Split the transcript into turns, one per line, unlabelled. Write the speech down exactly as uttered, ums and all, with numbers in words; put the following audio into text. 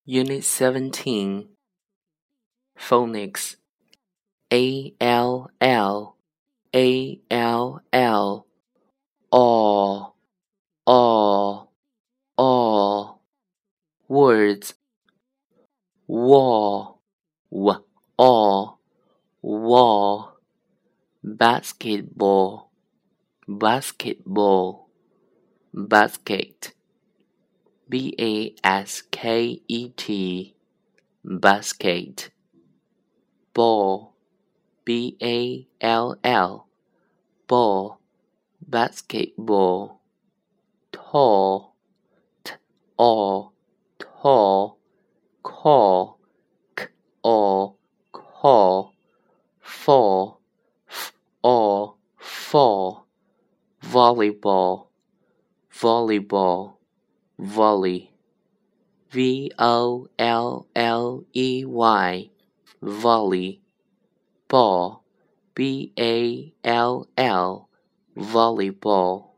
Unit seventeen Phonics A L L A L L all all all Words wall w all wall Basketball basketball basket B A S K E T basket ball B A L L ball basketball tall t all tall call k all call fall f all fall volleyball volleyball volley V O L L E Y volley ball B A L L volleyball